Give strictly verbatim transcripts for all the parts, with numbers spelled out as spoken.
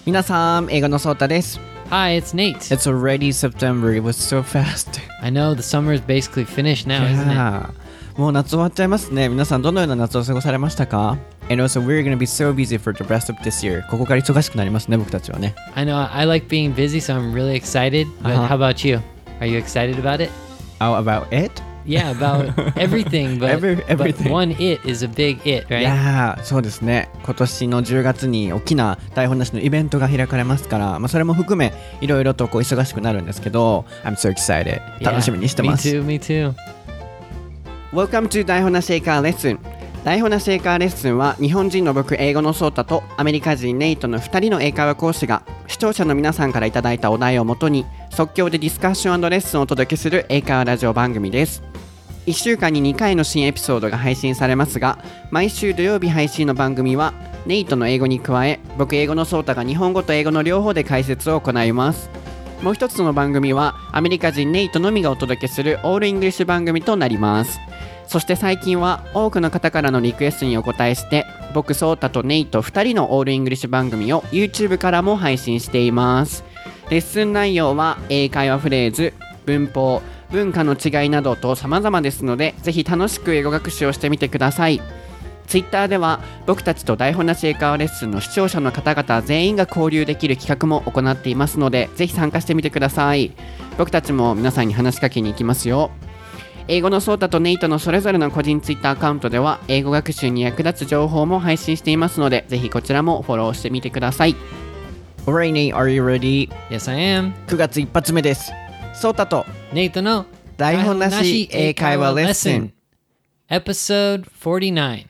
皆さん、英語のソータです。 Hi, it's Nate. It's already September. It was so fast. I know, the summer is basically finished now, isn't it? もう夏終わっちゃいますね。皆さんどのような夏を過ごされましたか？ And also, we're going to be so busy for the rest of this year. ここから忙しくなりますね、僕たちはね。 I know, I like being busy, so I'm really excited. But Uh-huh. how about you? Are you excited about it? Oh, about it? Yeah, about everything, but, Every, everything. but one it is a big it, right? いやー、そうですね。今年のじゅうがつに大きな台本なしのイベントが開かれますから、まあ、それも含めいろいろとこう忙しくなるんですけど、I'm so excited. 楽しみにしてます。 Yeah, me too, me too. Welcome to 台本なし英会話レッスン。台本なし英会話レッスンは日本人の僕、英語のソータとアメリカ人ネイトのふたりの英会話講師が視聴者の皆さんからいただいたお題をもとに即興でディスカッション&レッスンをお届けする英会話ラジオ番組です。いっしゅうかんににかいの新エピソードが配信されますが、毎週土曜日配信の番組はネイトの英語に加え、僕英語のソータが日本語と英語の両方で解説を行います。もう一つの番組はアメリカ人ネイトのみがお届けするオールイングリッシュ番組となります。そして最近は多くの方からのリクエストにお答えして、僕ソータとネイトふたりのオールイングリッシュ番組を YouTube からも配信しています。レッスン内容は英会話フレーズ、文法、文化の違いなどと様々ですので、ぜひ楽しく英語学習をしてみてください。Twitter では僕たちと台本なし英会話レッスンの視聴者の方々全員が交流できる企画も行っていますので、ぜひ参加してみてください。僕たちも皆さんに話しかけに行きますよ。英語のソータとネイトのそれぞれの個人ツイッターアカウントでは英語学習に役立つ情報も配信していますので、ぜひこちらもフォローしてみてください。Alright, Nate, are you ready? Yes, I am. くがつ一発目です。ソータとネイトの台本なし英会話レッスン Episode forty-nine.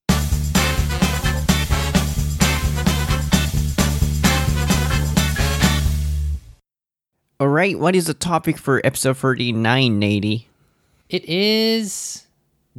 Alright, what is the topic for episode forty-nine, Nate? It is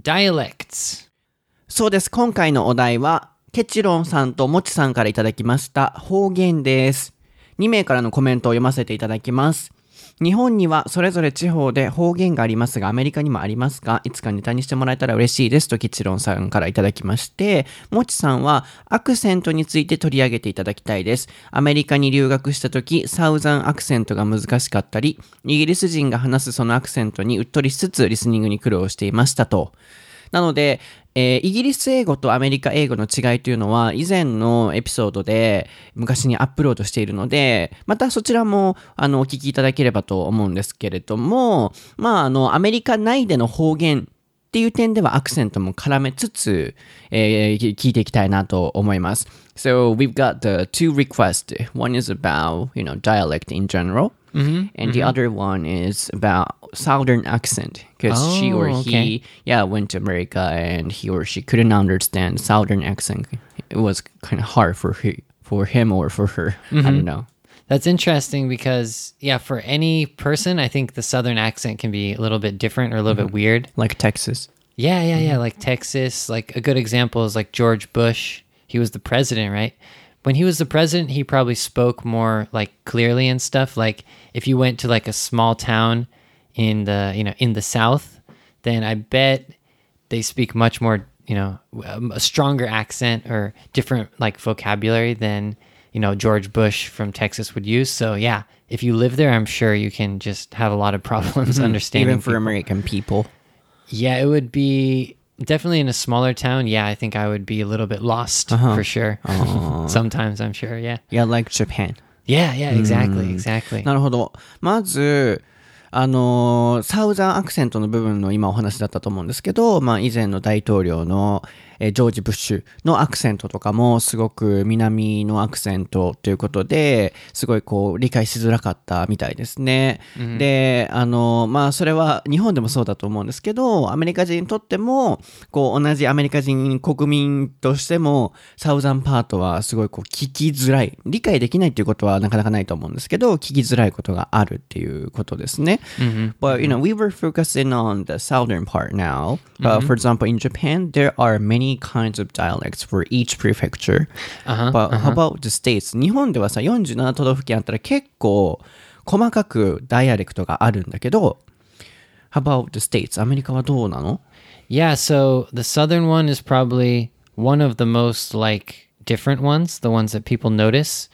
dialects. そうです。今回のお題はケチロンさんともちさんからいただきました方言です。にめいからのコメントを読ませていただきます。日本にはそれぞれ地方で方言がありますが、アメリカにもありますか？いつかネタにしてもらえたら嬉しいですとケチロンさんからいただきまして、もちさんはアクセントについて取り上げていただきたいです。アメリカに留学した時、サウザンアクセントが難しかったり、イギリス人が話すそのアクセントにうっとりしつつリスニングに苦労していましたと。なので、えー、イギリス英語とアメリカ英語の違いというのは以前のエピソードで昔にアップロードしているので、またそちらもあのお聞きいただければと思うんですけれども、まああのアメリカ内での方言っていう点ではアクセントも絡めつつ、えー、聞いていきたいなと思います。So we've got the two requests. One is about, you know, dialect in general. Mm-hmm, and mm-hmm. the other one is about southern accent because oh, she or he okay. yeah went to America and he or she couldn't understand southern accent. It was kind of hard for he, for him or for her. Mm-hmm. I don't know. That's interesting because yeah, for any person I think the southern accent can be a little bit different or a little mm-hmm. bit weird. Like Texas. Yeah, yeah, yeah, like Texas. Like a good example is like George Bush. He was the president, right? When he was the president, he probably spoke more like clearly and stuff. Like if you went to like a small town in the, you know, in the South, then I bet they speak much more, you know, a stronger accent or different like vocabulary than, you know, George Bush from Texas would use. So yeah, if you live there, I'm sure you can just have a lot of problems mm-hmm. understanding Even for people. American people. Yeah, it would be... Definitely in a smaller town, yeah, I think I would be a little bit lost uh-huh. for sure. Sometimes, I'm sure, yeah. Yeah, like Japan. Yeah, yeah, exactly, exactly. なるほど。まず、あのー、サウザンアクセントの部分の今お話だったと思うんですけど、まあ以前の大統領の、えー、ジョージ・ブッシュのアクセントとかもすごく南のアクセントということで、すごいこう理解しづらかったみたいですね。Mm-hmm. で、あのー、まあそれは日本でもそうだと思うんですけど、アメリカ人にとっても、こう同じアメリカ人国民としても、サウザンパートはすごいこう聞きづらい。理解できないっていうことはなかなかないと思うんですけど、聞きづらいことがあるっていうことですね。 Mm-hmm. But, you know, we were focusing on the southern part now. Uh, mm-hmm. For example, in Japan, there are many kinds of dialects for each prefecture. Uh-huh, But uh-huh. how about the states? 日本ではさ、よんじゅうなな都道府県あったら結構細かくダイアレクトがあるんだけど、How about the states? アメリカはどうなの？ Yeah, so the southern one is probably one of the most like different ones, the ones that people notice.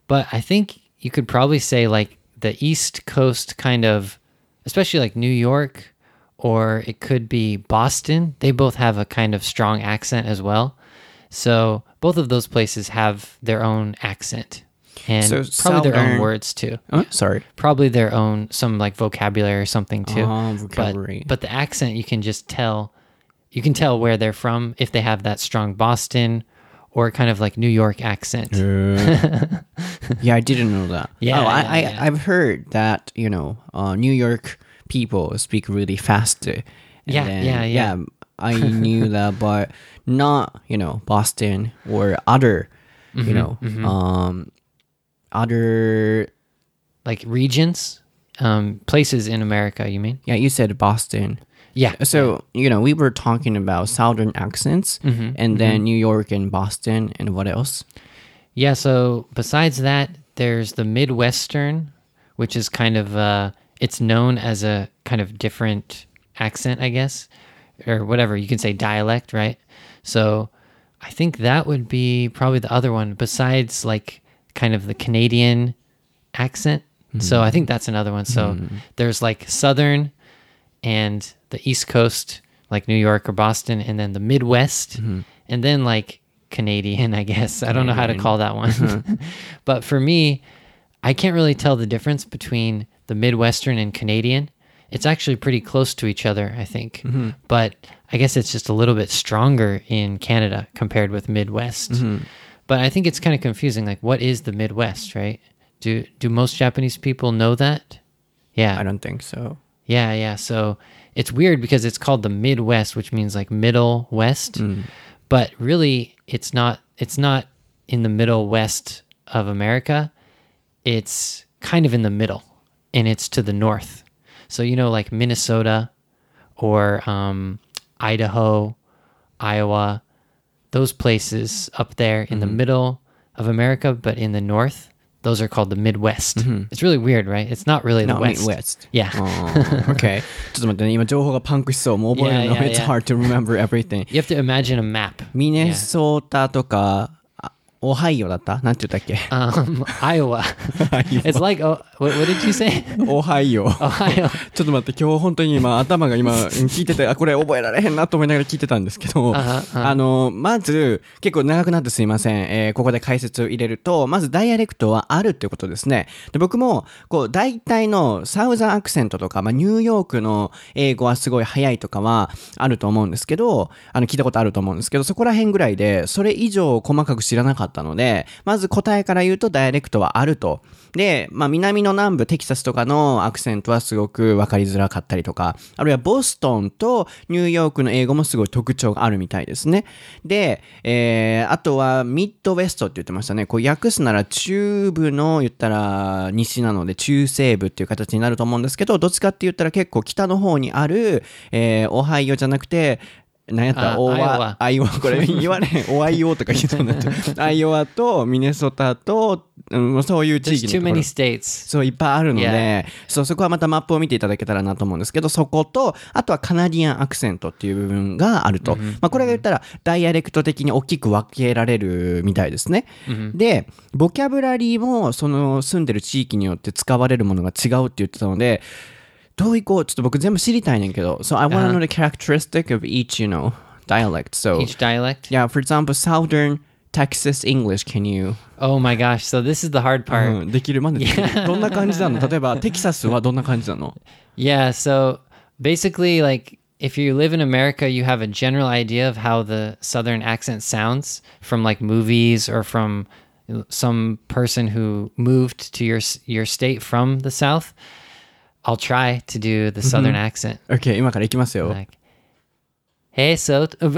But I think you could probably say like the East Coast kind of, especially like New York, or it could be Boston. They both have a kind of strong accent as well. So both of those places have their own accent and So probably their own southern- words too. Oh, sorry. Probably their own, some like vocabulary or something too. Oh, But, vocabulary. but the accent, you can just tell, you can tell where they're from if they have that strong Boston or kind of like New York accent. Yeah, I didn't know that. Yeah, oh, I, yeah, I, yeah. I've heard that, you know, uh, New York people speak really fast. And Yeah, yeah, yeah. I knew that, but not, you know, Boston or other, Mm-hmm, you know, um, other, Like regions, um, places in America, you mean? yeah, you said Boston. Yeah. So, you know, we were talking about southern accents Mm-hmm, and then New York and Boston and what else? Yeah, so besides that, there's the Midwestern, which is kind of, uh, it's known as a kind of different accent, I guess, or whatever. You can say dialect, right? So I think that would be probably the other one besides like kind of the Canadian accent. So I think that's another one. So there's like Southern and the East Coast, like New York or Boston, and then the Midwest, and then like Canadian, I guess. I don't know how to call that one. But for me, I can't really tell the difference between the Midwestern and Canadian. It's actually pretty close to each other, I think. But I guess it's just a little bit stronger in Canada compared with Midwest. But I think it's kind of confusing. Like, what is the Midwest, right? Do do most Japanese people know that? Yeah. I don't think so. Yeah, yeah. So it's weird because it's called the Midwest, which means like Middle West. But really it's not it's not in the Middle West of America. It's kind of in the middle, and it's to the north. So you know, like Minnesota or um, Idaho, Iowa, those places up there in the middle of America, but in the north, those are called the Midwest. It's really weird, right? It's not really the No, West. Midwest. Yeah. Oh, okay. ちょっと待ってね、今情報がパンクしそう。もう覚えるの。 Yeah, yeah, It's yeah. hard to remember everything. You have to imagine a map. ミネソータとか、あオハイオだったなんて言ったっけ Um, Iowa. It's like, oh, what, what did you say? オハイオ。 Ohio. ちょっと待って、今日本当に今頭が今聞いてて、あ、これ覚えられへんなと思いながら聞いてたんですけど、 あはああの、まず、結構長くなってすいません。えーここで解説を入れると、まずダイアレクトはあるっていうことですね。で、僕も、こう、大体のサウザンアクセントとか、まあ、ニューヨークの英語はすごい早いとかはあると思うんですけど、あの、聞いたことあると思うんですけど、そこら辺ぐらいで、それ以上細かく知らなかったので、まず答えから言うとダイアレクトはあると。で、まあ、南の南部、テキサスとかのアクセントはすごく分かりづらかったりとか、あるいはボストンとニューヨークの英語もすごい特徴があるみたいですね。で、えー、あとはミッドウェストって言ってましたね。こう訳すなら中部の言ったら西なので中西部っていう形になると思うんですけど、どっちかって言ったら結構北の方にある、えー、オハイオじゃなくて、何やったあオアイオワアイオワこれ言われへんオアイオとか言いそうになってアイオワとミネソタと、うん、そういう地 There's 域 too のとこ many ろ states. そういっぱいあるので、 Yeah. そうそこはまたマップを見ていただけたらなと思うんですけど、そことあとはカナディアンアクセントっていう部分があると、まあ、これが言ったらダイアレクト的に大きく分けられるみたいですね、でボキャブラリーもその住んでる地域によって使われるものが違うって言ってたので、どういこうちょっと僕全部知りたいねんけど、 So I want to know the characteristic of each, you know, dialect. So Each dialect. yeah, for example, Southern Texas English, can you Oh my gosh. So this is the hard part. うんできるまでできるどんな感じなの？例えばテキサスはどんな感じなの？ Yeah. So basically, like, if you live in America, you have a general idea of how the Southern accent sounds from like movies or from some person who moved to your your state from the South. I'll try to do the Southern accent. OK 今からいきますよ。 Like, hey, so oh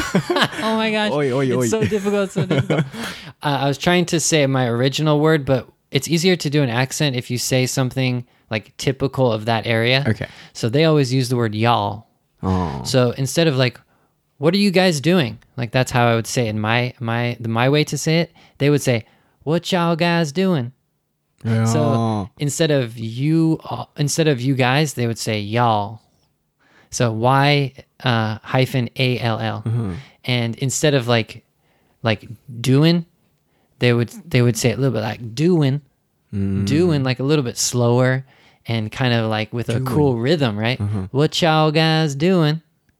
my gosh, Oi, oi, oi. it's so difficult. So difficult. uh, I was trying to say my original word, but it's easier to do an accent if you say something like typical of that area. Okay. So they always use the word y'all. あ So instead of like, what are you guys doing? Like that's how I would say it in my my the my way to say it. They would say, what y'all guys doing? ー So instead of you, uh, instead of you guys, they would say y'all. So Y uh, hyphen A L L. And instead of like, like doing, they would they would say it a little bit like doing, doing like a little bit slower and kind of like with a cool rhythm, right? What y'all guys doing?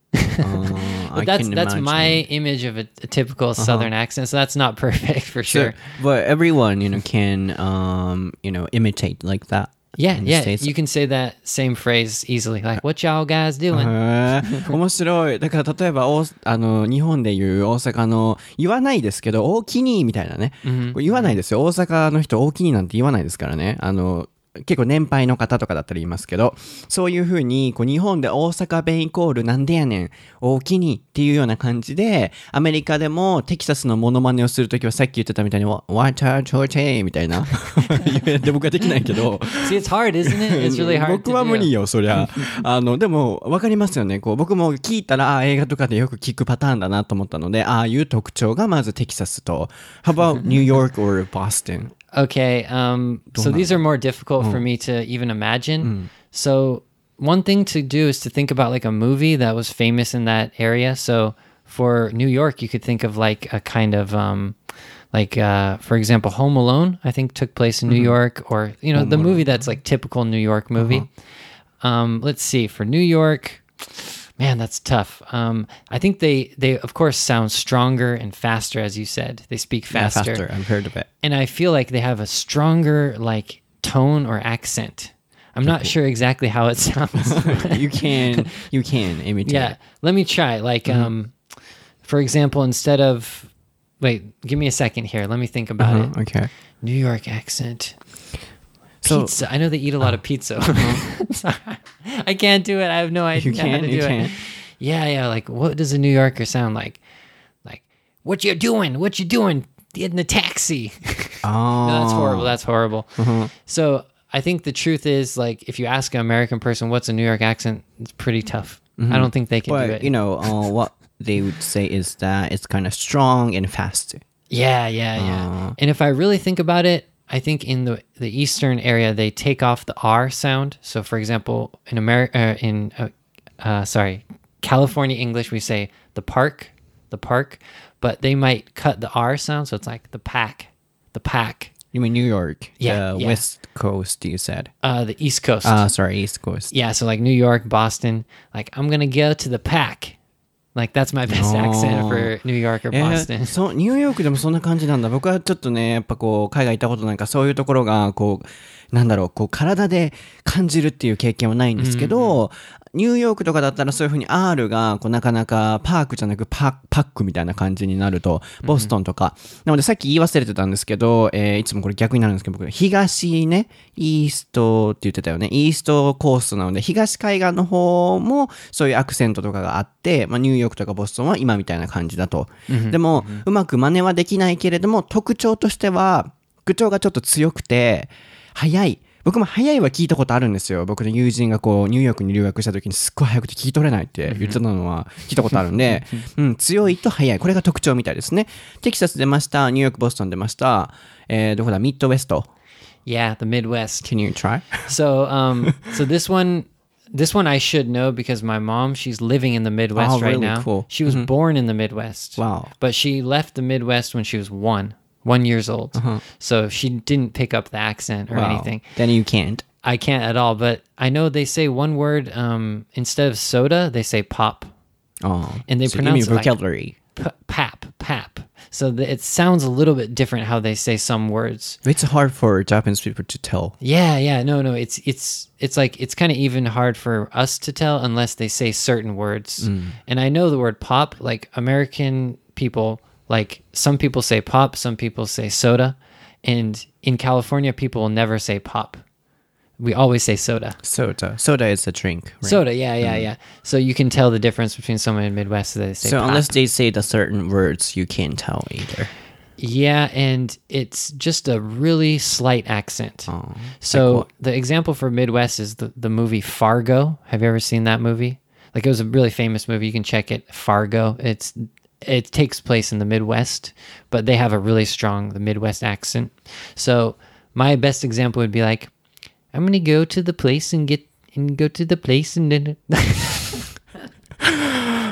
Uh, But that's that's my image of a, a typical Southern accent, so that's not perfect for sure. So, but everyone, you know, can um, you know, imitate like that. Yeah, in the yeah, States. you can say that same phrase easily. Like, what y'all guys doing? へー面白い。だから例えばおあの日本でいう大阪の言わないですけど大きにみたいなね、これ言わないですよ。大阪の人大きになんて言わないですからね。あの結構年配の方とかだったら言いますけど、そういう風にこう日本で大阪弁イコールなんでやねん大きにっていうような感じで、アメリカでもテキサスのモノマネをするときはさっき言ってたみたいに What a choche みたいなで僕はできないけど See, it's hard, isn't it? It's really hard 僕は to 無理 do. よそりゃあのでも分かりますよね。こう僕も聞いたらあ映画とかでよく聞くパターンだなと思ったので、ああいう特徴がまずテキサスと How about New York or Boston? Okay, um, so these are more difficult for me to even imagine. So one thing to do is to think about like a movie that was famous in that area. So for New York, you could think of like a kind of um, like uh, for example, Home Alone. I think took place in New York, or you know, Home the Alone. movie that's like typical New York movie. Um, let's see, for New York. Man, that's tough. Um, I think they, they, of course, sound stronger and faster, as you said. They speak Yeah, faster. faster. I've heard of it. And I feel like they have a stronger, like, tone or accent. I'm not sure exactly how it sounds. You can, you can imitate. Yeah, let me try. Like, um, for example, instead of... Wait, give me a second here. Let me think about Uh-huh, it. okay. New York accent. So- Pizza. I know they eat a lot of pizza. Sorry. I can't do it. I have no idea You how can't? to You do it. can't? Yeah, yeah. Like, what does a New Yorker sound like? Like, what you doing? What you doing? In the taxi. Oh. No, that's horrible. That's horrible. So I think the truth is, like, if you ask an American person what's a New York accent, it's pretty tough. I don't think they can But, do it. you know, uh, what they would say is that it's kind of strong and fast. Yeah, yeah, yeah. And if I really think about it, I think in the the eastern area they take off the R sound. So, for example, in America, uh, in uh, uh, sorry, California English, we say the park, the park, but they might cut the R sound, so it's like the pack, the pack. You mean New York? Yeah, The yeah. West Coast, you said. Uh, the East Coast. Ah, sorry, East Coast. Yeah, so like New York, Boston. Like, I'm gonna go to the pack. Like, that's my best accent for New York or えー Boston. そうニューヨークでもそんな感じなんだ。僕はちょっとねやっぱこう海外行ったことないからそういうところがこうなんだろうこう体で感じるっていう経験はないんですけど、ニューヨークとかだったらそういう風に R がこうなかなかパークじゃなくパパックみたいな感じになるとボストンとか、なのでさっき言い忘れてたんですけど、えーいつもこれ逆になるんですけど僕東ねイーストって言ってたよね。イーストコーストなので東海岸の方もそういうアクセントとかがあって、まあ、ニューヨークとかボストンは今みたいな感じだと、でも、うまく真似はできないけれども特徴としては口調がちょっと強くて早い。僕も早いは聞いたことあるんですよ。僕の友人がこうニューヨークに留学した時にすっごい早くて聞き取れないって言ってたのは聞いたことあるんで、うん、強いと早い。これが特徴みたいですね。テキサス出ました。ニューヨーク、ボストン出ました。えー、どこだミッドウェスト。 Yeah, the Midwest. Can you try? So, um, so this one, this one I should know because my mom, she's living in the Midwest Oh, right really? now. Cool. She was born in the Midwest. Wow. But she left the Midwest when she was one, one years old. So she didn't pick up the accent or Wow. anything. Then you can't. I can't at all. But I know they say one word um, instead of soda, they say pop. Oh. And they so pronounce you mean it like- vocabulary. P- pap, pap. So the, it sounds a little bit different how they say some words. It's hard for Japanese people to tell. Yeah, yeah, no, no, it's it's it's like it's kind of even hard for us to tell unless they say certain words. And I know the word pop, like American people, like some people say pop, some people say soda, and in California people will never say pop. We always say soda. Soda. Soda is a drink. Right? Soda, yeah, yeah, yeah. So you can tell the difference between someone in the Midwest that they say So pop. unless they say the certain words, you can't tell either. Yeah, and it's just a really slight accent. Oh, so like what? the example for Midwest is the, the movie Fargo. Have you ever seen that movie? Like, it was a really famous movie. You can check it. Fargo. It's it takes place in the Midwest, but they have a really strong the Midwest accent. So my best example would be like, I'm gonna go to the place and get and go to the place and then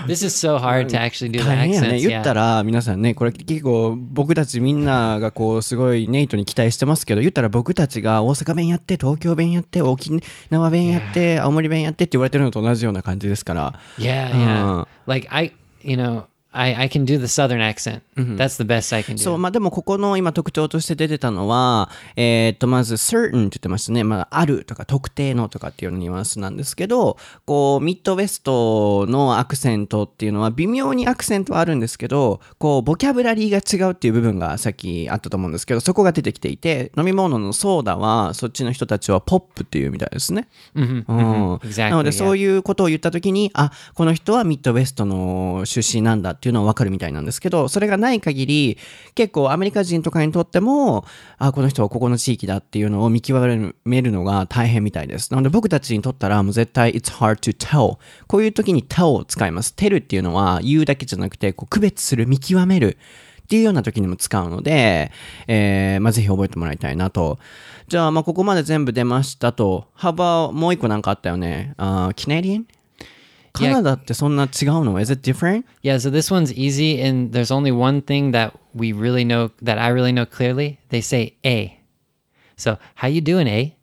This is so hard to actually do the 大変やね。 accents. 言った Yeah. ら皆さんね、これ結構僕たちみんながこうすごいネイトに期待してますけど、言ったら僕たちが大阪弁やって東京弁やって沖縄弁やって青森弁やってって言われてるのと同じような感じですから。 Yeah, yeah. Uh. Like I, you know, I, I can do the southern accent. That's the best I can do. そう、まあでもここの今特徴として出てたのは、えーっとまず certain って言ってましたね。まああるとか特定のとかっていうニュアンスなんですけど、こうミッドウェストのアクセントっていうのは微妙にアクセントはあるんですけど、こうボキャブラリーが違うっていう部分がさっきあったと思うんですけど、そこが出てきていて、飲み物のソーダはそっちの人たちはポップっていうみたいですね。 Mhm, うん mhm. Exactly, なので yeah. そういうことを言ったときに、あ、この人はミッドウェストの出身なんだっていうのは分かるみたいなんですけど、それがない限り結構アメリカ人とかにとっても、あ、この人はここの地域だっていうのを見極めるのが大変みたいです。なので僕たちにとったらもう絶対 It's hard to tell。こういう時に tell を使います。tell っていうのは言うだけじゃなくてこう区別する、見極めるっていうような時にも使うので、えーまあ、ぜひ覚えてもらいたいなと。じゃあ、まあここまで全部出ましたと。幅もう一個なんかあったよね。あ、Canadian？カナダってそんな違うの？ Is it different? Yeah, so this one's easy, and there's only one thing that we really know, that I really know clearly. They say A. So, how you doing, A?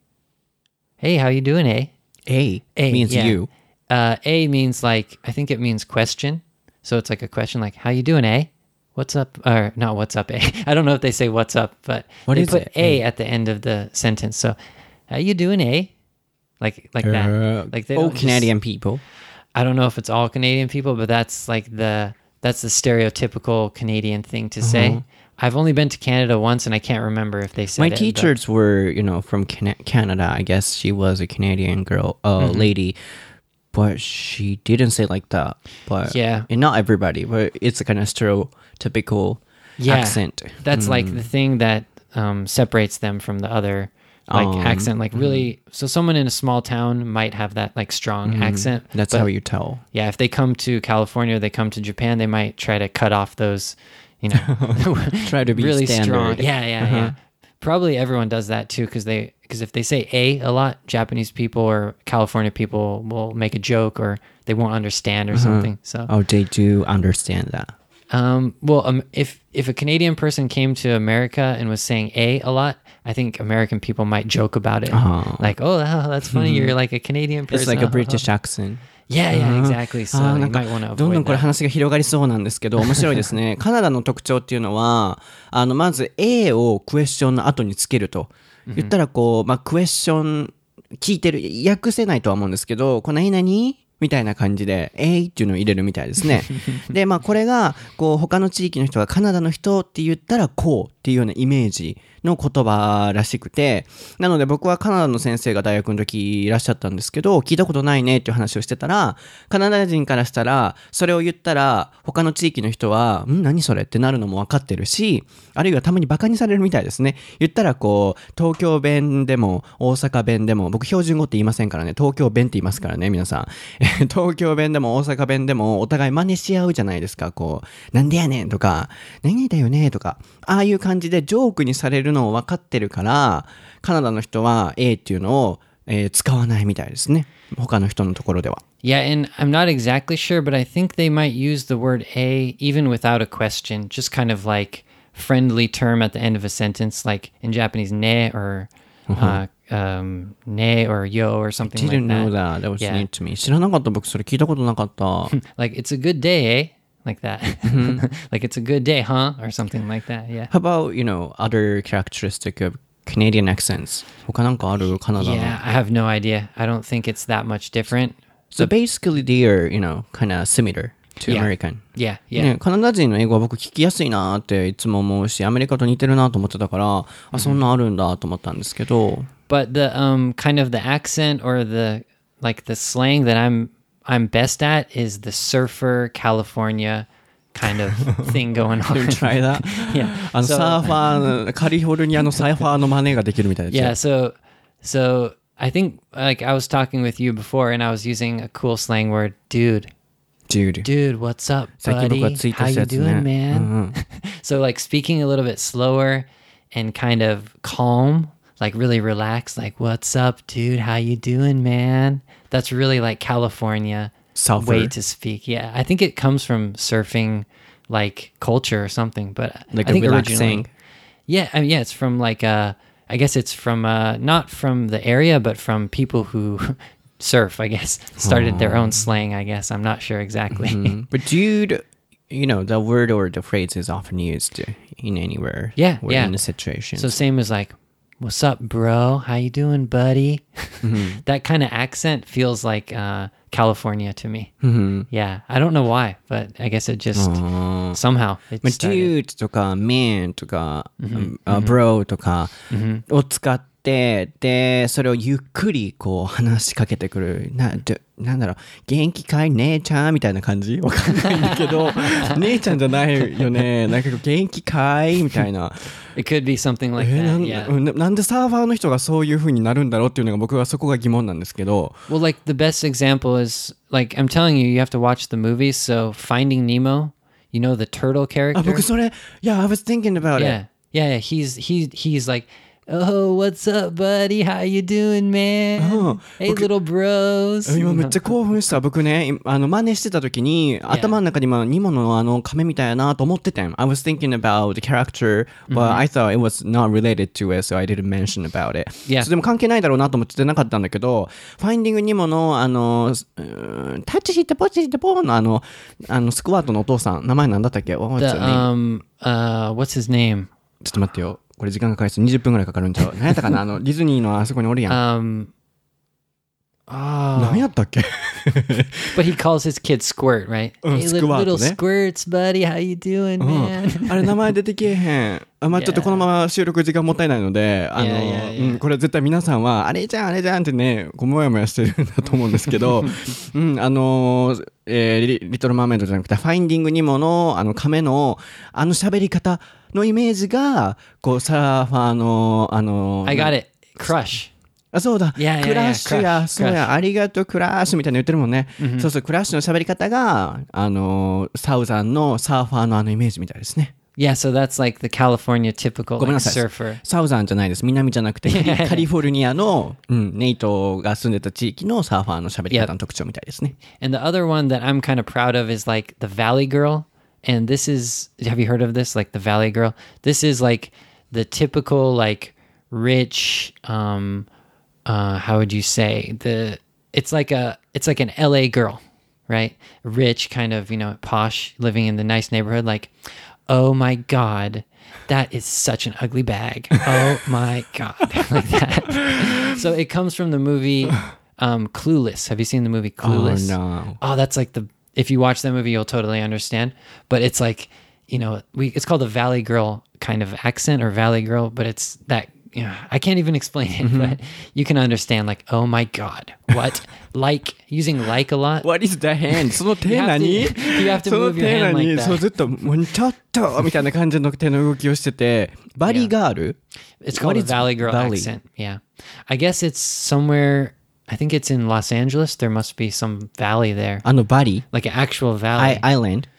Hey, how you doing, A? A, A means yeah. you. Uh, A means like, I think it means question. So it's like a question like, how you doing, A? What's up? Or not what's up, A. I don't know if they say what's up, but What they is put it? A A. at the end of the sentence. So, how you doing, A? Like like Uh, that. Like they all don't just- Canadian people. I don't know if it's all Canadian people, but that's like the that's the stereotypical Canadian thing to say. I've only been to Canada once, and I can't remember if they said My it. but- teachers were, you know, from Can- Canada. I guess she was a Canadian girl, uh, lady, but she didn't say like that. But Yeah. and not everybody, but it's a kind of stereotypical Yeah. accent. That's like the thing that um, separates them from the other like Um, accent. Like really, so someone in a small town might have that like strong accent. That's but how you tell. yeah, if they come to California, they come to Japan, they might try to cut off those, you know, Try to be really standard. strong. Yeah, yeah, yeah. Probably everyone does that too, because they because if they say A a lot, Japanese people or California people will make a joke or they won't understand or something. So, Oh, they do understand that. um, well, um, if if a Canadian person came to America and was saying A a lot, I think American people might joke about it, Oh. like, "Oh, wow, that's funny. You're like a Canadian person." It's like a British accent. Yeah, yeah, exactly. So あー you なんか might want to どんどん avoid これ that. 話が広がりそうなんですけど面白いですね。カナダの特徴っていうのはあのまず A をクエスチョンの後につけると言ったらこう、まあ、クエスチョン聞いてる訳せないとは思うんですけどこの何々みたいな感じで A っていうのを入れるみたいですね。でまあこれがこう他の地域の人がカナダの人って言ったらこうっていうようなイメージの言葉らしくて、なので僕はカナダの先生が大学の時いらっしゃったんですけど、聞いたことないねっていう話をしてたら、カナダ人からしたらそれを言ったら他の地域の人はん何それってなるのも分かってるし、あるいはたまにバカにされるみたいですね。言ったらこう東京弁でも大阪弁でも、僕標準語って言いませんからね、東京弁って言いますからね皆さん。東京弁でも大阪弁でもお互い真似し合うじゃないですか。こうなんでやねんとか何々だよねとか、ああいう感じでジョークにされるのを分かってるからカナダの人は A っていうのを、えー、使わないみたいですね、他の人のところでは。 Yeah, and I'm not exactly sure, but I think they might use the word A even without a question, just kind of like friendly term at the end of a sentence, like in Japanese, ne or uh, um, ne or yo or something Didn't like know that. that. That was Yeah. new to me. 知らなかった僕それ聞いたことなかった。 Like, it's a good day, eh? Like that. Like, it's a good day, huh? Or something like that, yeah. How about, you know, other characteristic of Canadian accents? 他なんかあるカナダの。 Yeah, I have no idea. I don't think it's that much different. So basically they are, you know, kind of similar to Yeah. American. Yeah, yeah. ね、カナダ人の英語は僕聞きやすいなっていつも思うし、アメリカと似てるなと思ってたから、あ、そんなあるんだと思ったんですけど。 But the um kind of the accent or the like the slang that I'm I'm best at is the surfer California kind of thing going on. Try that? Yeah. あの So- サーファー、カリフォルニアのサーファーの真似ができるみたいですよ。 Yeah, so so I think like I was talking with you before and I was using a cool slang word, dude. Dude. Dude, what's up, 最近僕が buddy? ツイート How した you やつね。 doing, man? うんうん So like speaking a little bit slower and kind of calm, like really relaxed, like what's up, dude? How you doing, man? That's really like California Surfer. way to speak. Yeah, I think it comes from surfing, like culture or something. But Like I a think relaxing. originally, yeah, I mean, yeah, it's from like uh, I guess it's from uh, not from the area, but from people who surf. I guess started their own slang. I guess I'm not sure exactly. Mm. But dude, you know, the word or the phrase is often used in anywhere. Yeah, or yeah. in a situation. So same as like, "What's up, bro? How you doing, buddy?" That kind of accent feels like uh, California to me. Yeah, I don't know why, but I guess it just somehow it まあ、 started. dude とか man とか、あ bro とかを使って、で、それをゆっくりこう話しかけてくる。な、でなんだろう、元気かい姉ちゃんみたいな感じわかんないんだけど、姉ちゃんじゃないよね。なんか元気かいみたいな。 It could be something like えー、な that. ん Yeah. ななんでサーファーの人がそういう風になるんだろうっていうのが僕はそこが疑問なんですけど。 Well, like the best example is like I'm telling you, you have to watch the movies. So Finding Nemo, you know the turtle あ、 character. 僕それ、Yeah, I was thinking about Yeah, it. yeah, yeah. He's he he's like, "Oh, what's up, buddy? How you doing, man? Oh, Hey, okay. little bros." 今めっちゃ興奮した僕ねあの真似してた時に頭の中に今ニモのあの亀みたいやなと思ってたん I was thinking about the character but I thought it was not related to it so I didn't mention about it Yeah. それでも関係ないだろうなと思ってなかったんだけど Finding ニモのあのうーんタッチしてポチしてポーのあのあのスクワットのお父さん名前なんだったっけ What was The his name? um uh what's his name? ちょっと待ってよこれ時間がかかりそうにじゅっぷんぐらいかかるんちゃう何やったかなあのディズニーのあそこにおるやん Um. Oh. 何やったっけ But he calls his kid Squirt, right? Uh, Hey, little, Squirt, little ね。 squirts, buddy. How you doing, うん man? あれ名前出てけえへん。あまあ、ちょっとこのまま収録時間もったいないので、あの、 いやいやいやうん、これ絶対皆さんは、あれじゃん、あれじゃんってね、こうもやもやしてるんだと思うんですけど、うん、あの、えーリ、リトルマーメイドじゃなくて、ファインディングニモの、あの、亀の、あの喋り方のイメージが、こう、サーファーの、あの、 I got it. Crush. あ、そうだ。 いやいやいやクラッシュや、 クラッシュそうや、ありがとう、クラッシュみたいなの言ってるもんね。そうそう、クラッシュの喋り方が、あの、サウザンのサーファーのあのイメージみたいですね。 Yeah, so that's like the California typical ごめん like, なさい。 surfer. サウザンじゃないです。南じゃなくて、カリフォルニアの、うん、ネイトが住んでた地域のサーファーの喋り方の特徴みたいですね。 And the other one that I'm kind of proud of is like the Valley Girl. And this is, have you heard of this? Like the Valley Girl? This is like the typical, like rich, um, uh, how would you say? The, it's like a, it's like an L A girl, right? Rich, kind of, you know, posh, living in the nice neighborhood. Like, oh my God, that is such an ugly bag. Oh my God. Like that. So it comes from the movie um, Clueless. Have you seen the movie Clueless? Oh, no. Oh, that's like the, if you watch that movie, you'll totally understand. But it's like, you know, we it's called the Valley Girl kind of accent or Valley Girl, but it's that, you know, I can't even explain it, but you can understand like, oh my God, what? Like, using like a lot. What is the hand? その手 You have to- 何 you have to その move your 手 hand 何 like that. そうずっと、もうちょっとみたいな感じの手の動きをしてて、バリガール It's What called a is Valley Girl Valley? accent. Yeah. I guess it's somewhere, I think it's in Los Angeles. There must be some valley there. あのバリ Like an actual アイ valley. アイランド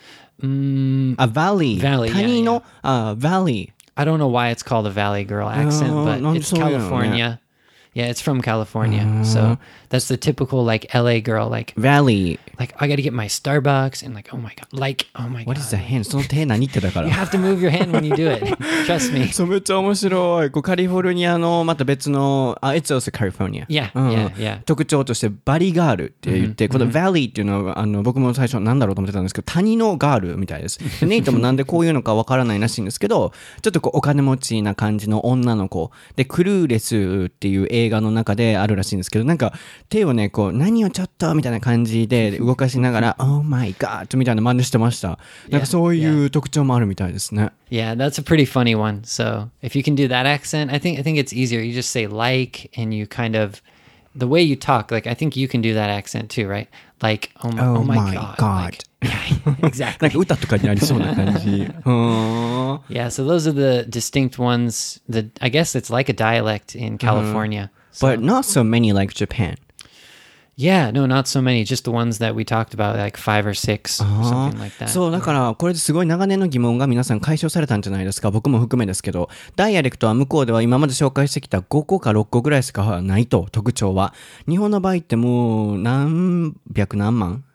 Mm, あ、バリ Valley, yeah, 谷の、あ、バリ I don't know why it's called a Valley Girl accent, Oh, but no, it's so, yeah, California. Yeah, it's from California. So that's the typical like L A girl, like バリ like I got to get my Starbucks and like oh my god, like oh my What god. is the hand? その手何ってだから You have to move your hand when you do it. Trust me. そうめっちゃ面白いこうカリフォルニアのまた別のあ It's also California Yeah, うん yeah, yeah. 特徴としてバリガールって言って、この Valley っていうのはあの僕も最初なんだろうと思ってたんですけど谷のガールみたいですでネイトもなんでこういうのかわからないらしいんですけどちょっとこうお金持ちな感じの女の子でクルーレスっていう映画の中であるらしいんですけどなんか手をねこう何をちょっとみたいな感じで動かしながら Oh my God みたいな真似してましたなんかそういう特徴もあるみたいですね Yeah, that's a pretty funny one. So if you can do that accent, I think I think it's easier. You just say like and you kind of the way you talk, like I think you can do that accent too, right? Like oh my, Oh oh my, my god. God. Like, yeah, なん exactly. か歌とかにありそうな感じうーん Yeah, so those are the distinct ones. The I guess it's like a dialect in California. So, But not so many like Japan. yeah, no, not so many. Just the ones that we talked about, like five or six or something like that. そうだからこれですごい長年の疑問が皆さん解消されたんじゃないですか僕も含めですけどダイアレクトは向こうでは今まで紹介してきたごこかろっこぐらいしかないと特徴は日本の場合ってもう何百何万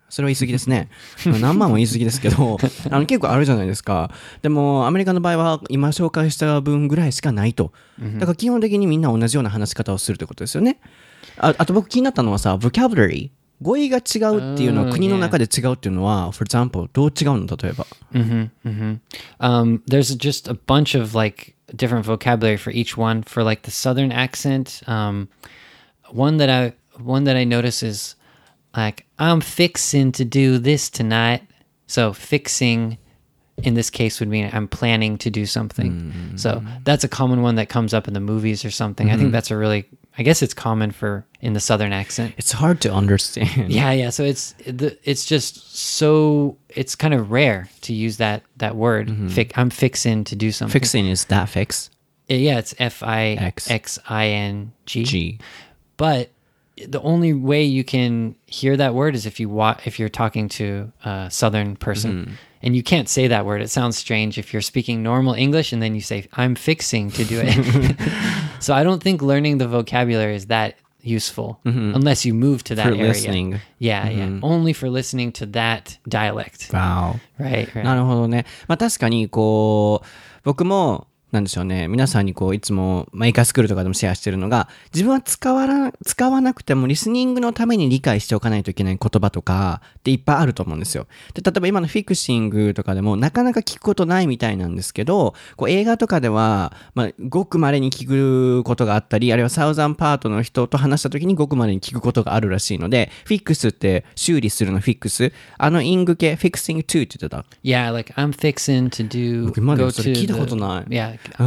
それは言い過ぎですね。何万も言い過ぎですけど、あの結構あるじゃないですか。でもアメリカの場合は今紹介した分ぐらいしかないと。だから基本的にみんな同じような話し方をするってことですよね。あ, あと僕気になったのはさ、vocabulary。語彙が違うっていうのは国の中で違うっていうのは、for example どう違うの例えば。 Mm-hmm, mm-hmm. Um, there's just a bunch of like different vocabulary for each one. For like the southern accent, um, one that I one that I notice is like I'm fixing to do this tonight. So fixing in this case would mean I'm planning to do something. Mm-hmm. So that's a common one that comes up in the movies or something. Mm-hmm. I think that's a really I guess it's common for in the southern accent. It's hard to understand. Yeah, yeah. So it's it's just so it's kind of rare to use that that word. Mm-hmm. Fi- I'm fixing to do something. Fixing is that fix? Yeah, it's F I X I N G. G. But the only way you can hear that word is if you wa- if you're talking to a southern person. Mm-hmm. And you can't say that word. It sounds strange if you're speaking normal English and then you say, I'm fixing to do it. So I don't think learning the vocabulary is that useful mm-hmm. unless you move to that for area. Listening. Yeah, mm-hmm. yeah. Only for listening to that dialect. Wow. Right, right. なるほどね。まあ確かにこう、僕もなんでしょうね、皆さんにこういつも、まあ、イカスクールとかでもシェアしてるのが、自分は使わな、使わなくてもリスニングのために理解しておかないといけない言葉とかっていっぱいあると思うんですよ。で、例えば今のフィクシングとかでもなかなか聞くことないみたいなんですけど、こう映画とかでは、まあ、ごく稀に聞くことがあったり、あるいはサウザンパートの人と話した時にごく稀に聞くことがあるらしいので、フィックスって修理するのフィックス、あのイング系、fixing to って言ってた。 Yeah, like I'm fixing to do, 僕までそれ聞いたことない。 Yeah. うん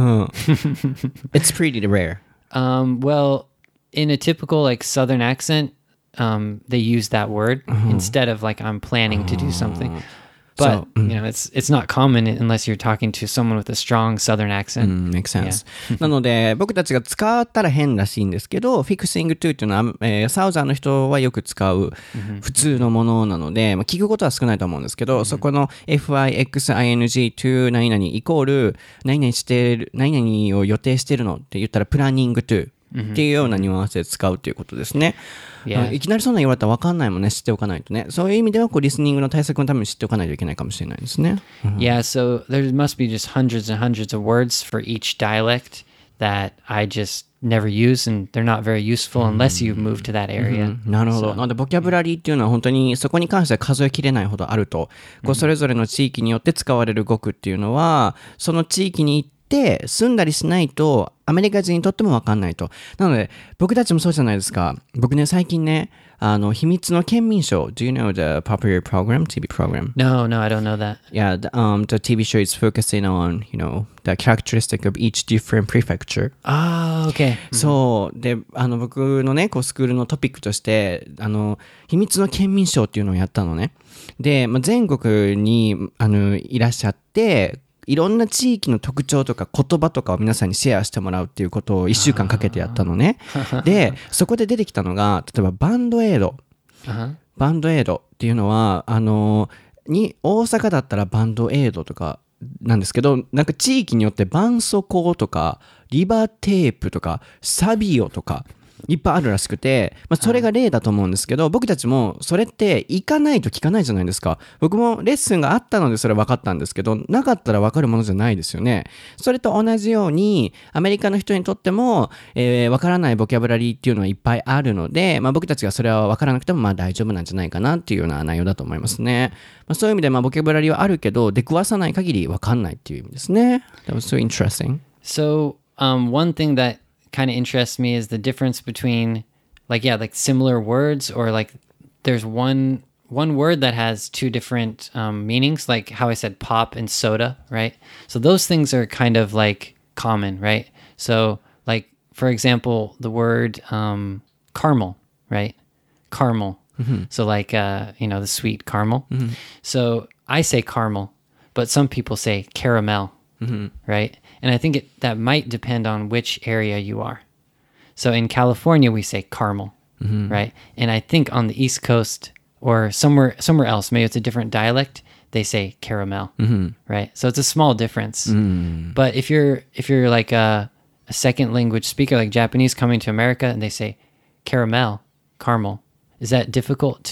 。It's pretty rare. Um, well, in a typical like Southern accent, um, they use that word uh-huh. instead of like I'm planning to do something. But, so, mm. you know, it's it's not common unless you're talking to someone with a strong Southern accent. Mm, makes sense. なので、僕たちが使ったら変らしいんですけど、fixing to っていうのは、えー、サウザーの人はよく使う普通のものなので、まあ、聞くことは少ないと思うんですけど、mm-hmm. そこの フィクシング to 何々イコール何々してる、何々を予定してるのって言ったら planning to。っていうようなニュアンスで使うということですね。Yeah. いきなりそんな言われたら分かんないもんね、知っておかないとね。そういう意味ではこうリスニングの対策のために知っておかないといけないかもしれないですね。 Yeah, so there must be just hundreds and hundreds of words for each dialect that I just never use and they're not very useful unless you move to that area. なるほど。なのでボキャブラリーっていうのは本当にそこに関しては数えきれないほどあると。こうそれぞれの地域によって使われる語句っていうのは、その地域に行ってで住んだりしないとアメリカ人にとっても分かんないと。なので僕たちもそうじゃないですか。僕ね最近ねあの秘密の県民賞 Do you know the popular program T V program? No, no, I don't know that. Yeah, the, um, the T V show is focusing on you know the characteristic of each different prefecture. Ah, okay. そうであの僕のねこうスクールのトピックとしてあの秘密の県民賞っていうのをやったのね。で、まあ、全国にあのいらっしゃっていろんな地域の特徴とか言葉とかを皆さんにシェアしてもらうっていうことをいっしゅうかんかけてやったのね。で、そこで出てきたのが、例えばバンドエイド。バンドエイドっていうのは、あの、に、大阪だったらバンドエイドとかなんですけど、なんか地域によって絆創膏とか、リバテープとか、サビオとか、いっぱいあるらしくて、まあ、それが例だと思うんですけど、僕たちもそれって行かないと聞かないじゃないですか。僕もレッスンがあったのでそれは分かったんですけど、なかったら分かるものじゃないですよね。それと同じようにアメリカの人にとっても、えー、分からないボキャブラリーっていうのはいっぱいあるので、まあ、僕たちがそれは分からなくてもまあ大丈夫なんじゃないかなっていうような内容だと思いますね。まあ、そういう意味でまあボキャブラリーはあるけど出くわさない限り分かんないっていう意味ですね。That was so interesting. So, um, one thing that kind of interests me is the difference between like yeah like similar words or like there's one one word that has two different um, meanings like how I said pop and soda, right? So those things are kind of like common, right? So like for example the word um, caramel, right? Caramel. Mm-hmm. So like uh, you know the sweet caramel. Mm-hmm. So I say caramel but some people say caramel, mm-hmm. right? And I think it, that might depend on which area you are. So in California, we say caramel, mm-hmm. right? And I think on the East Coast or somewhere somewhere else, maybe it's a different dialect, they say caramel, mm-hmm. right? So it's a small difference. Mm. But if you're if you're like a, a second language speaker, like Japanese coming to America, and they say caramel, caramel, is that difficult to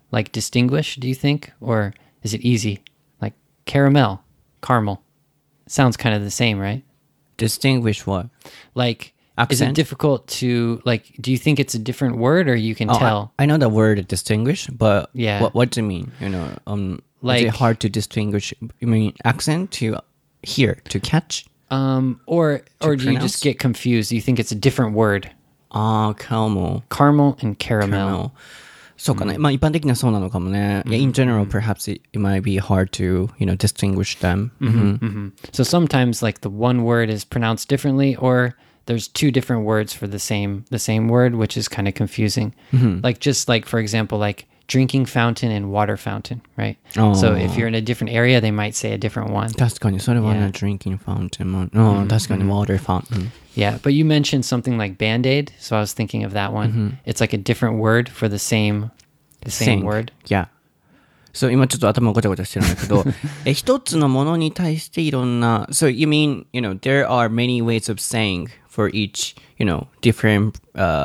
like distinguish, do you think? Or is it easy? Like caramel, caramel. Sounds kind of the same, right? Distinguish what? Like, Accent? is it difficult to, like, do you think it's a different word or you can Oh, tell? I, I know the word distinguish, but Yeah. what what do you mean? You know, um, Like- is it hard to distinguish? You mean accent to hear to catch? Um, or or do you pronounce? just get confused? Do you think it's a different word? Ah, caramel. Caramel and caramel. Caramel. そうかね。まあ一般的にはそうなのかもね。Yeah, in general, perhaps it, it might be hard to, you know, distinguish them. hmm So sometimes like the one word is pronounced differently, or there's two different words for the same the same word, which is kind of confusing. Like just like for example, like drinking fountain and water fountain, right? So if you're in a different area, they might say a different one. 確かにそれはね、 Yeah. drinking fountain も、うん、確かに water fountain. Yeah, but you mentioned something like Band-Aid, so I was thinking of that one. It's like a different word for the same the same Sing. word. Yeah. そう、今ちょっと頭ごちゃごちゃしてるんだけど、え、一つのものに対していろんな、So you mean, you know, there are many ways of saying for each, you know, different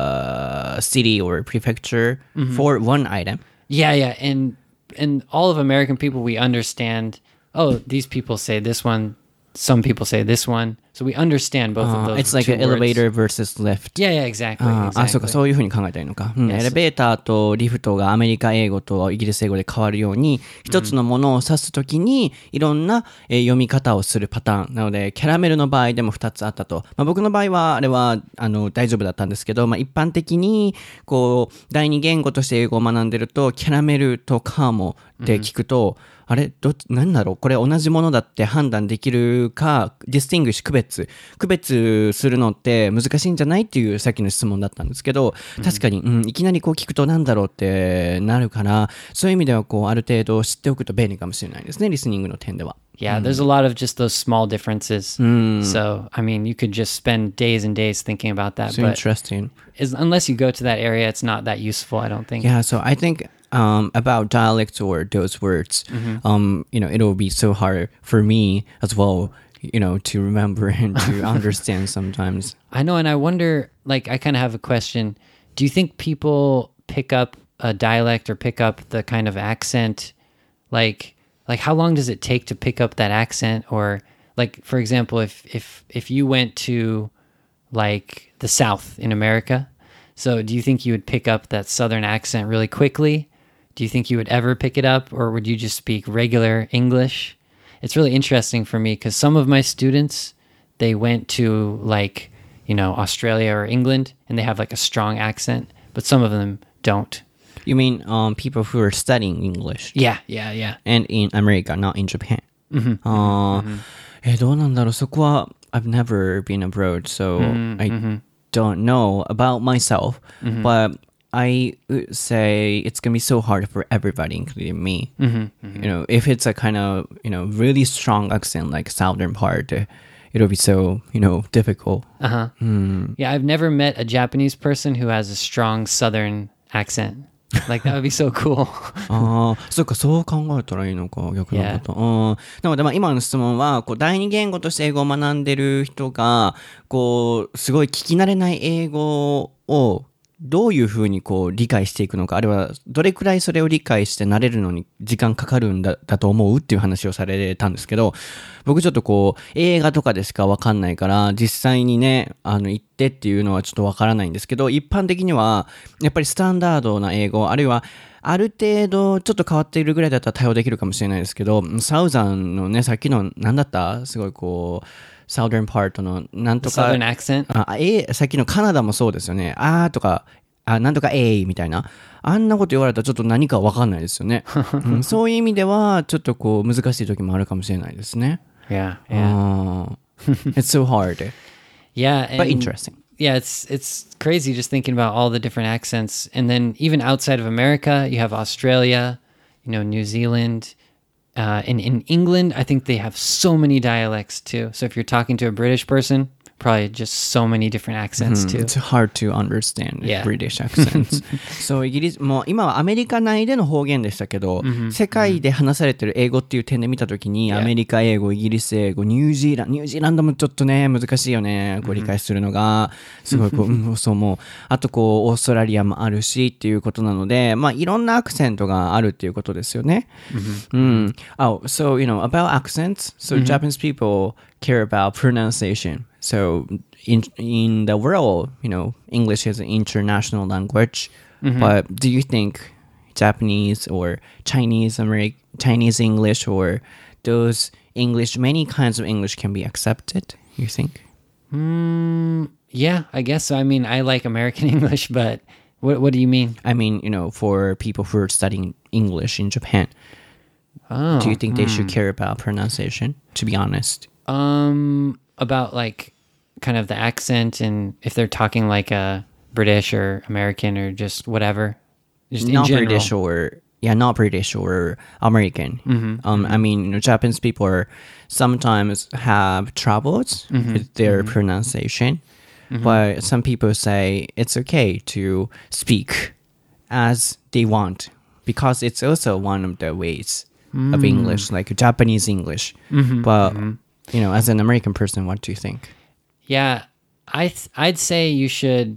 uh, city or prefecture for one item. Yeah, yeah, and and all of American people, we understand. Oh, these people say this one. Some people say this one. So we understand both of Uh, those. it's like two an words. elevator versus lift. Yeah, yeah, exactly. ああ、 exactly. そうか、そういうふうに考えたらいいのか。うん、 Yes. エレベーターとリフトがアメリカ英語とイギリス英語で変わるように、一つのものを指すときに、いろんな、えー読み方をするパターン。なので、キャラメルの場合でも二つあったと。まあ、僕の場合は、あれは、あの、大丈夫だったんですけど、まあ、一般的に、こう、第二言語として英語を学んでると、キャラメルとカーモって聞くと、あれどっち、何だろうこれ同じものだって判断できるか、ディスティングシュ、区別。区別するのって難しいんじゃないっていうさっきの質問だったんですけど、確かに、うん、いきなりこう聞くと何だろうってなるから、そういう意味ではこう、ある程度知っておくと便利かもしれないですね、リスニングの点では。 Yeah, there's a lot of just those small differences. So, I mean, you could just spend days and days thinking about that. So but interesting. is, unless you go to that area, it's not that useful, I don't think. Yeah, so I think um, about dialects or those words, um, you know, it'll be so hard for me as well, you know, to remember and to understand sometimes. I know, and I wonder, like, I kind of have a question. Do you think people pick up a dialect or pick up the kind of accent? Like, like how long does it take to pick up that accent? Or, like, for example, if if if you went to, like, the South in America, so do you think you would pick up that Southern accent really quickly? Do you think you would ever pick it up, or would you just speak regular English? It's really interesting for me because some of my students, they went to, like, you know, Australia or England, and they have like a strong accent, but some of them don't. You mean um, people who are studying English? Yeah, yeah, yeah. And in America, not in Japan. あーえーどうなんだろうそこは I've never been abroad, so I don't know about myself, but I would say it's gonna be so hard for everybody, including me. You know, if it's a kind of, you know, really strong accent like southern part, uh, it'll be so, you know, difficult. Uh-huh. Yeah, I've never met a Japanese person who has a strong Southern accent. Like, that would be so cool. ああ、そうか、そう考えたらいいのか、逆のこと。うん。なので、まあ、今の質問は、こう、第二言語として英語を学んでる人が、こう、すごい聞き慣れない英語を、どういうふうにこう理解していくのか、あるいはどれくらいそれを理解して慣れるのに時間かかるんだ、だと思うっていう話をされたんですけど、僕ちょっとこう、映画とかでしかわかんないから、実際にね、あの、行ってっていうのはちょっとわからないんですけど、一般的には、やっぱりスタンダードな英語、あるいは、ある程度ちょっと変わっているぐらいだったら対応できるかもしれないですけど、サウザンのね、さっきの、なんだったすごいこう、Southern part のなんとか Southern accent? あえさっきのカナダもそうですよね。あーとか、あなんとかえいみたいな。あんなこと言われたらちょっと何かわかんないですよね、うん。そういう意味では、ちょっとこう難しい時もあるかもしれないですね。 Yeah, yeah. It's so hard. Yeah. And, But interesting. Yeah, it's it's crazy just thinking about all the different accents. And then even outside of America, you have Australia, you know, New Zealand. Uh, and in England, I think they have so many dialects too. So if you're talking to a British person, probably just so many different accents too. It's hard to understand Yeah. British accents. そうイギリスもう今はアメリカ内での方言でしたけど、世界で話されてる英語っていう点で見たときに、 Yeah. アメリカ英語、イギリス英語、ニュージーランド、ニュージーランドもちょっとね難しいよね。こう理解するのがすごいこう、うん、そうもうあとこうオーストラリアもあるしっていうことなので、まあいろんなアクセントがあるっていうことですよね。うん。Oh, so you know about accents. So Japanese people care about pronunciation. So in in the world, you know, English is an international language. But do you think Japanese or Chinese American Chinese English or those English, many kinds of English can be accepted? You think? Mm, yeah, I guess so. I mean, I like American English, but what what do you mean? I mean, you know, for people who are studying English in Japan, Oh, do you think they should care about pronunciation? To be honest. um, about like kind of the accent and if they're talking like a British or American or just whatever, just in Not general. British or yeah, not British or American. Um, I mean, you know, Japanese people are sometimes have troubles with their pronunciation, but some people say it's okay to speak as they want because it's also one of the ways of English, like Japanese English. But you know, as an American person, what do you think? Yeah, I th- I'd say you should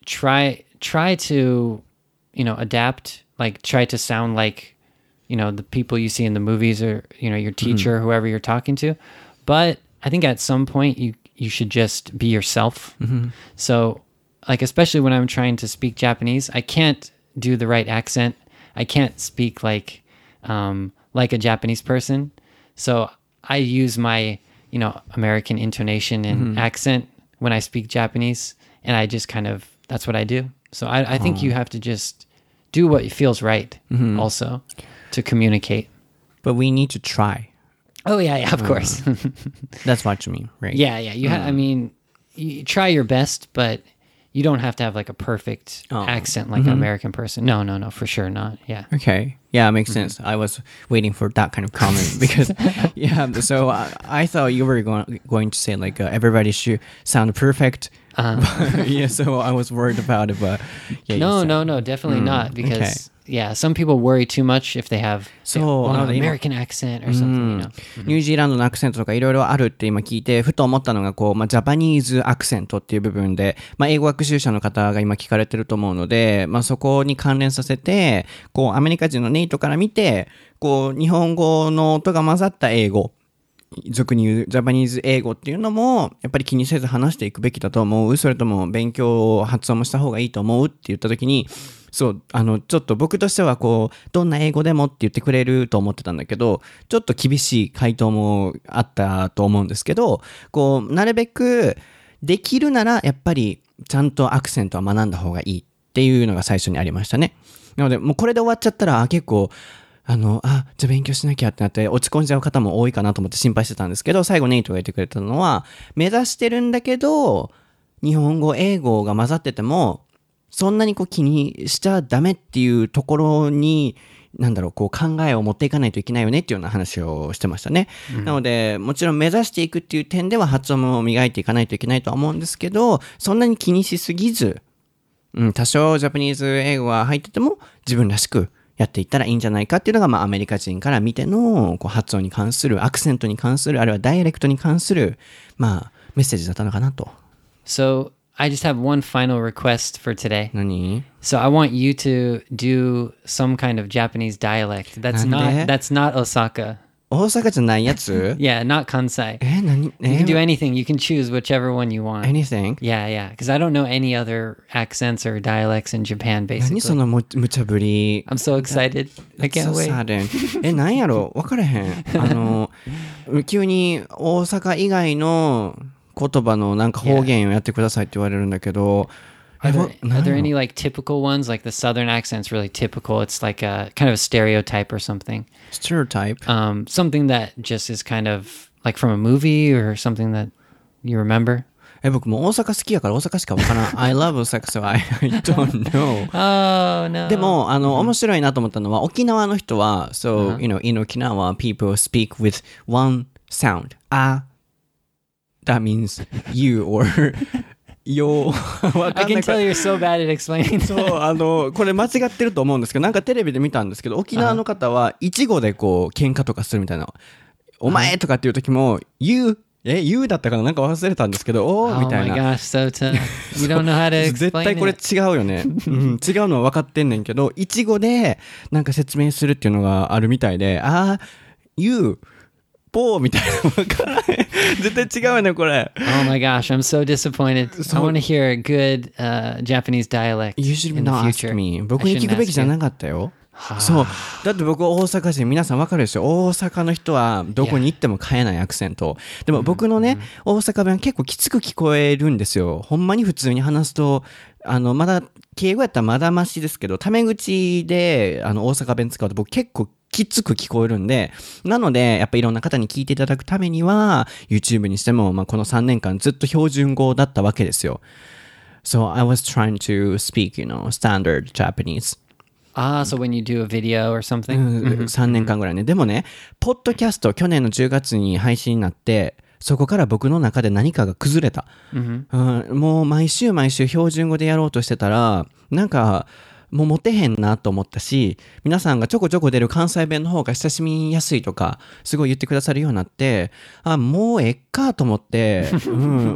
try try to, you know, adapt, like try to sound like, you know, the people you see in the movies or, you know, your teacher, whoever you're talking to. But I think at some point you you should just be yourself. So, like especially when I'm trying to speak Japanese, I can't do the right accent. I can't speak like um like a Japanese person. So, I use my, you know, American intonation and accent when I speak Japanese, and I just kind of, that's what I do. So I, I think you have to just do what feels right also to communicate. But we need to try. Oh yeah, yeah, of course. That's what you mean, right? yeah, yeah. You ha- I mean, you try your best, but you don't have to have like a perfect Oh. accent like an American person. No, no, no, for sure not. Yeah. Okay. Yeah, it makes sense. I was waiting for that kind of comment because, yeah. So I, I thought you were going going to say like uh, everybody should sound perfect. Uh-huh. Yeah. So I was worried about it, but yeah. you No, said- no, no, definitely not because okay. yeah, some people worry too much if they have So, well, uh, an American accent or something, you know. ニュージーランドのアクセントとかいろいろあるって今聞いてふと思ったのがこう、まあ、ジャパニーズアクセントっていう部分で、まあ、英語学習者の方が今聞かれてると思うので、まあ、そこに関連させてこうアメリカ人のネイトから見てこう日本語の音が混ざった英語俗に言うジャパニーズ英語っていうのもやっぱり気にせず話していくべきだと思う。それとも勉強発音もした方がいいと思うって言った時にそうあのちょっと僕としてはこうどんな英語でもって言ってくれると思ってたんだけどちょっと厳しい回答もあったと思うんですけどこうなるべくできるならやっぱりちゃんとアクセントは学んだ方がいいっていうのが最初にありましたね。なのでもうこれで終わっちゃったら結構あの、あ、じゃあ勉強しなきゃってなって落ち込んじゃう方も多いかなと思って心配してたんですけど、最後ネイトが言ってくれたのは、目指してるんだけど、日本語、英語が混ざってても、そんなにこう気にしちゃダメっていうところに、なんだろう、こう考えを持っていかないといけないよねっていうような話をしてましたね。うん、なので、もちろん目指していくっていう点では発音も磨いていかないといけないとは思うんですけど、そんなに気にしすぎず、うん、多少ジャパニーズ英語が入ってても自分らしくやっていったらいいんじゃないかっていうのが、まあ、アメリカ人から見てのこう発音に関するアクセントに関するあるいはダイアレクトに関する、まあ、メッセージだったのかなと。 So I just have one final request for today. 何? So I want you to do some kind of Japanese dialect. That's なんで? not that's not Osaka. 大阪じゃないやつ? Yeah, not Kansai. え、何? You can do anything. You can choose whichever one you want. Anything? Yeah, yeah. Because I don't know any other accents or dialects in Japan, 何 basically. そのむ無茶ぶり? I'm so excited. I can't so wait. sudden. え、何やろ分からへん。あの、急に大阪以外の言葉のなんか方言をやってくださいって言われるんだけど、 Are え、 there, わ are 何 there やろ any like typical ones? Like the southern accent's really typical. It's like a kind of a stereotype or something. stereotype? Um, something that just is kind of like from a movie or something that you remember. え、僕もう大阪好きやから大阪しか分からん。I love 大阪 so I, I don't know. Oh, no. でも、あの、面白いなと思ったのは、沖縄の人は、so, you know, in Okinawa, people speak with one sound. あ、 that means you orよ I can tell you're so bad at explaining. そうあのこれ間違ってると思うんですけど、なんかテレビで見たんですけど、沖縄の方はイチゴでこう喧嘩とかするみたいな、お前とかっていう時も you え you だったかな、なんか忘れたんですけど、おーみたいな。 Oh my gosh, Sota. You don't know how to explain 絶対これ違うよね、うん、違うのは分かってんねんけど、イチゴでなんか説明するっていうのがあるみたいで、あー youポーみたいな分からない絶対違うよねこれ。 Oh my gosh, I'm so disappointed. So- I want to hear a good uh, Japanese dialect You should in the not ask future. me. 僕に聞くべきじゃなかったよ。そうだって僕大阪人、皆さん分かるでしょ、大阪の人はどこに行っても変えないアクセント。でも僕のね、大阪弁結構きつく聞こえるんですよ。ほんまに普通に話すと、あのまだ敬語やったらまだマシですけど、タメ口であの大阪弁使うと僕結構きつく聞こえるんで、なのでやっぱいろんな方に聞いていただくためには YouTube にしても、まあ、このさんねんかんずっと標準語だったわけですよ。 So I was trying to speak, you know, standard Japanese. Ah, so when you do a video or something? うん、さんねんかんぐらいね。でもね、ポッドキャスト去年のじゅうがつに配信になって、そこから僕の中で何かが崩れた、うんうん、もう毎週毎週標準語でやろうとしてたら、なんかもうモテへんなと思ったし、皆さんがちょこちょこ出る関西弁の方が親しみやすいとかすごい言ってくださるようになって、あ、もうえっかと思って、うん、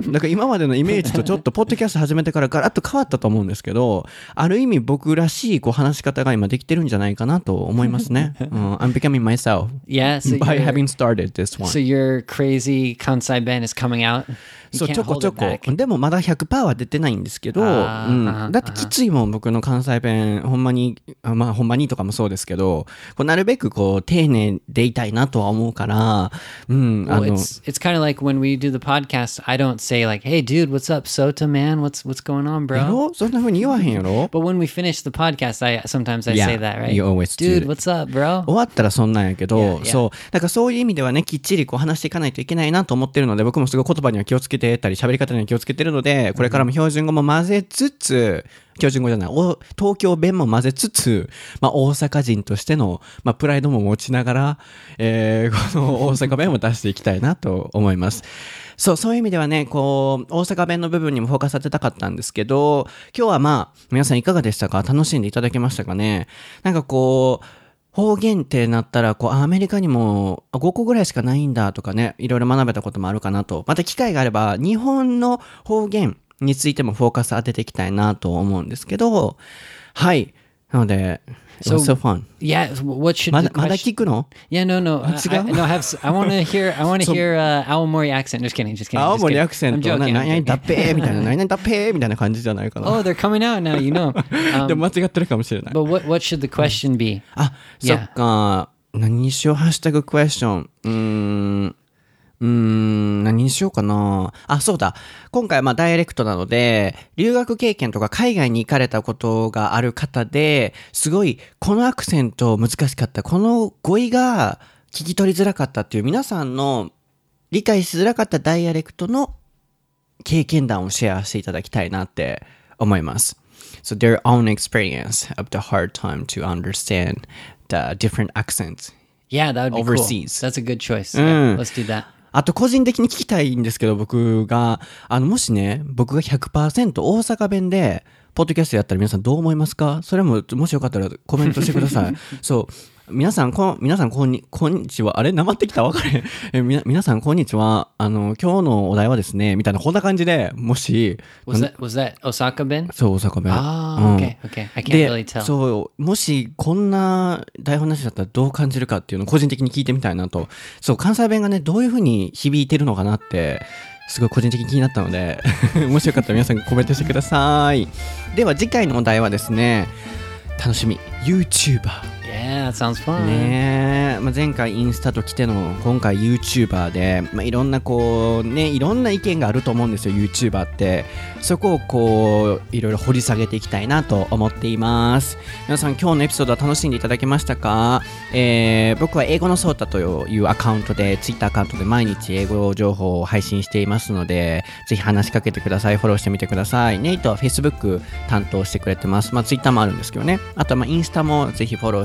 だから今までのイメージとちょっとポッドキャスト始めてからガラッと変わったと思うんですけど、ある意味僕らしいこう話し方が今できてるんじゃないかなと思いますね、うん、I'm becoming myself Yeah, so by you're- having started this one. So your crazy Kansai Ben is coming out? You そう can't ちょこ hold ちょ it こ back. でもまだ ひゃくパーセント は出てないんですけど、 あーうんあーだってきついもん、僕の関西弁ほんまに、まあほんまにとかもそうですけど、こうなるべくこう丁寧でいたいなとは思うから、うんあ Well, の it's it's kind of like when we do the podcast. I don't say like, "Hey, dude, what's up, Sota man? What's what's going on, や bro?" ろそんな風に言わへんやろ。 But when we finish the podcast, I sometimes I Yeah, say that, right? you always do. Dude, what's up, bro? 終わったらそんなんやけど、 Yeah, yeah. そうだからそういう意味ではね、きっちりこう話していかないといけないなと思ってるので、僕もすごい言葉には気をつけてたり喋り方には気をつけてるので、これからも標準語も混ぜつつ、標準語じゃない、お東京弁も混ぜつつ、まあ、大阪人としての、まあ、プライドも持ちながら、えーこの大阪弁も出していきたいなと思います。そう、そういう意味ではね、こう、大阪弁の部分にもフォーカス当てたかったんですけど、今日はまあ、皆さんいかがでしたか？楽しんでいただけましたかね？なんかこう、方言ってなったら、こう、アメリカにもごこぐらいしかないんだとかね、いろいろ学べたこともあるかなと。また機会があれば、日本の方言についてもフォーカス当てていきたいなと思うんですけど、はい。なので、it was so fun. Yeah, what should ま the だ、まだ question? 聞くの？ Yeah, no, no. I, 違う？ I, no, I have. s- I want to hear. I want to hear uh, Aomori accent. Just kidding. Just kidding. 青 just 森 kidding. アクセン I'm ト、な joking. 何 I'm 々だっ joking. ぺーみたいな、何々だっぺーみたいな感じじゃないかな。 Oh, they're coming out now. You know. で Um, も間違ってるかもしれない。 but what what should the question be? あ、そっか。何にしよう、ハッシュタグクエスチョン。うーん。うーん、何にしようかな。あ、そうだ。今回はまあダイレクトなので、留学経験とか海外に行かれたことがある方で、すごいこのアクセント難しかった、この語彙が聞き取りづらかったっていう皆さんの理解しづらかったダイアレクトの経験談をシェアしていただきたいなって思います。So their own experience of the hard time to understand the different accents. Yeah, that would be Overseas. cool. That's a good choice. Mm. Yeah, let's do that. あと個人的に聞きたいんですけど、僕が、あの、もしね、僕が ひゃくパーセント 大阪弁で、ポッドキャストやったら皆さんどう思いますか？それも、もしよかったらコメントしてください。そう。皆さん、こん、皆さん、こんに、こんにちは。あれなまってきた？わかれへん。え、みな、皆さん、こんにちは。あの、今日のお題はですね、みたいな、こんな感じで、もし、 Was that was that Osaka Ben? そう、大阪弁。 Ah, うん okay, okay. I can't で really tell. そうもしこんな台本なしだったらどう感じるかっていうのを個人的に聞いてみたいなと。そう関西弁がねどういう風に響いてるのかなってすごい個人的に気になったのでもしよかったら皆さんコメントしてください。では次回のお題はですね、楽しみ YouTuber Yeah, that sounds fun. ねえ、まあ、前回インスタと来ての今回 YouTuber で、まあ、いろんなこうねいろんな意見があると思うんですよ YouTuber って。そこをこういろいろ掘り下げていきたいなと思っています。皆さん今日のエピソードは楽しんでいただけましたか？えー、僕は英語のソータというアカウントで Twitter アカウントで毎日英語情報を配信していますので、ぜひ話しかけてください。フォローしてみてください。ネイトは Facebook 担当してくれてます。まあ Twitter もあるんですけどね。あとはまあインスタもぜひフォローしてみてください。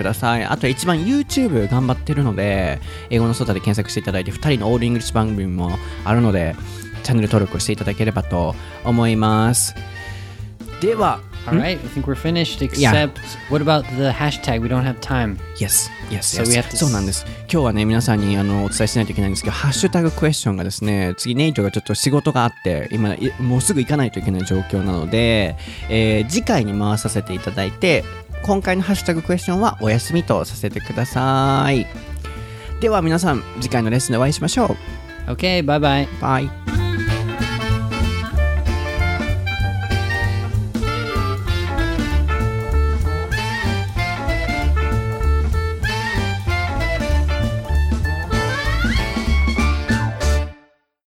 ださい。あと一番 YouTube 頑張ってるので、英語のソータで検索していただいて、ふたりのオールイングリッシュ番組もあるので、チャンネル登録をしていただければと思います。では、 All right, I think we're finished, except what about the hashtag? We don't have time. Yes, yes, So we yes. have to そうなんです。今日はね、皆さんにあのお伝えしないといけないんですけど、ハッシュタグクエスチョンがですね、次ネイトがちょっと仕事があって、今いもうすぐ行かないといけない状況なので、えー次回に回させていただいて、今回のハッシュタグクエスチョンはお休みとさせてください。では皆さん、次回のレッスンでお会いしましょう。 Okay, bye bye. Bye.